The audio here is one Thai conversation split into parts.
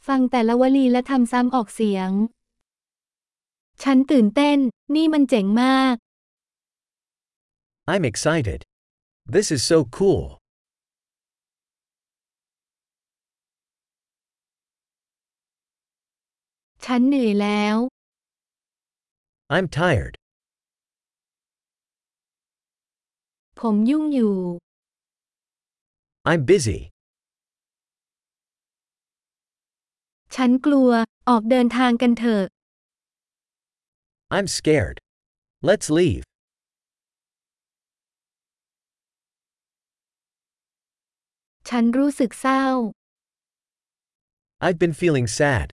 ฟังแต่ละวลีและทำซ้ำออกเสียงฉันตื่นเต้นนี่มันเจ๋งมาก I'm excited. This is so cool. ฉันเหนื่อยแล้ว I'm tired. ผมยุ่งอยู่ I'm busy. ฉันกลัวออกเดินทางกันเถอะ I'm scared. Let's leave. ฉันรู้สึกเศร้า I've been feeling sad.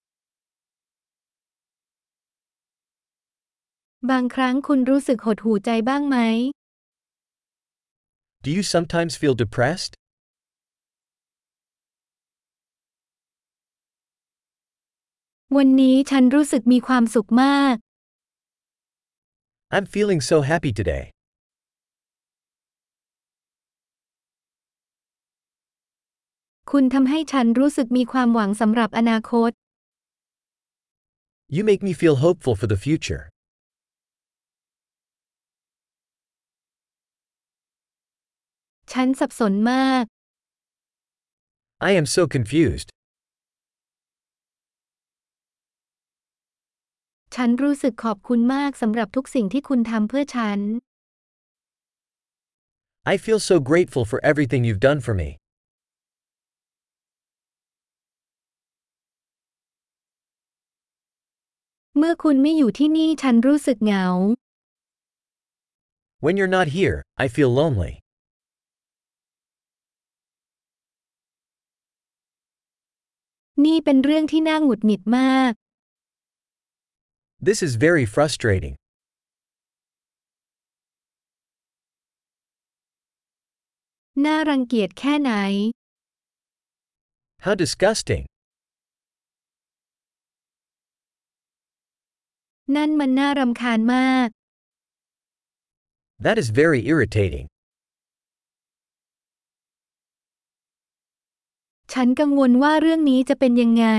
บางครั้งคุณรู้สึกหดหู่ใจบ้างไหม Do you sometimes feel depressed? วันนี้ฉันรู้สึกมีความสุขมาก I'm feeling so happy today. คุณทำให้ฉันรู้สึกมีความหวังสำหรับอนาคต You make me feel hopeful for the future. ฉันสับสนมาก I am so confused. ฉันรู้สึกขอบคุณมากสำหรับทุกสิ่งที่คุณทำเพื่อฉัน I feel so grateful for everything you've done for me. เมื่อคุณไม่อยู่ที่นี่ฉันรู้สึกเหงา When you're not here, I feel lonely. นี่เป็นเรื่องที่น่าหงุดหงิดมาก This is very frustrating. น่ารังเกียจแค่ไหน How disgusting. นั่นมันน่ารำคาญมาก That is very irritating. ฉันกังวลว่าเรื่องนี้จะเป็นยังไง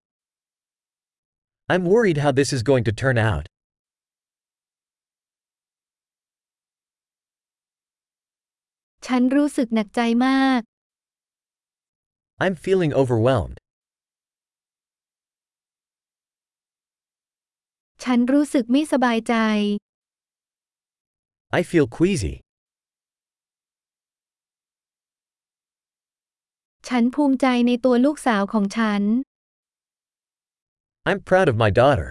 I'm worried how this is going to turn out. ฉันรู้สึกหนักใจมาก I'm feeling overwhelmed. ฉันรู้สึกไม่สบายใจ I feel queasy. ฉันภูมิใจในตัวลูกสาวของฉัน I'm proud of my daughter.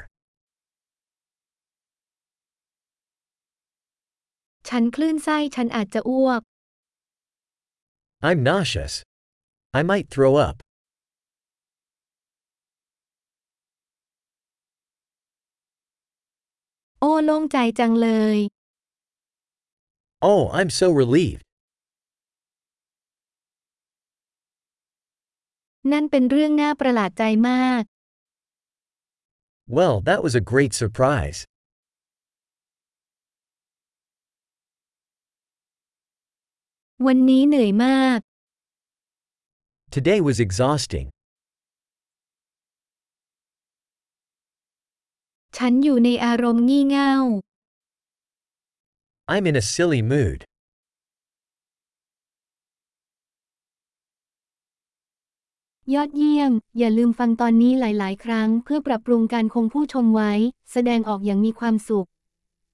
ฉันคลื่นไส้ฉันอาจจะอ้วก I'm nauseous. I might throw up. โอ้โล่งใจจังเลย Oh, I'm so relieved. นั่นเป็นเรื่องน่าประหลาดใจมาก Well, that was a great surprise. วันนี้เหนื่อยมาก Today was exhausting. ฉันอยู่ในอารมณ์งี่เง่า I'm in a silly mood. ยอดเยี่ยม อย่าลืมฟังตอนนี้หลายๆ ครั้งเพื่อปรับปรุงการคงผู้ชมไว้ แสดงออกอย่างมีความสุข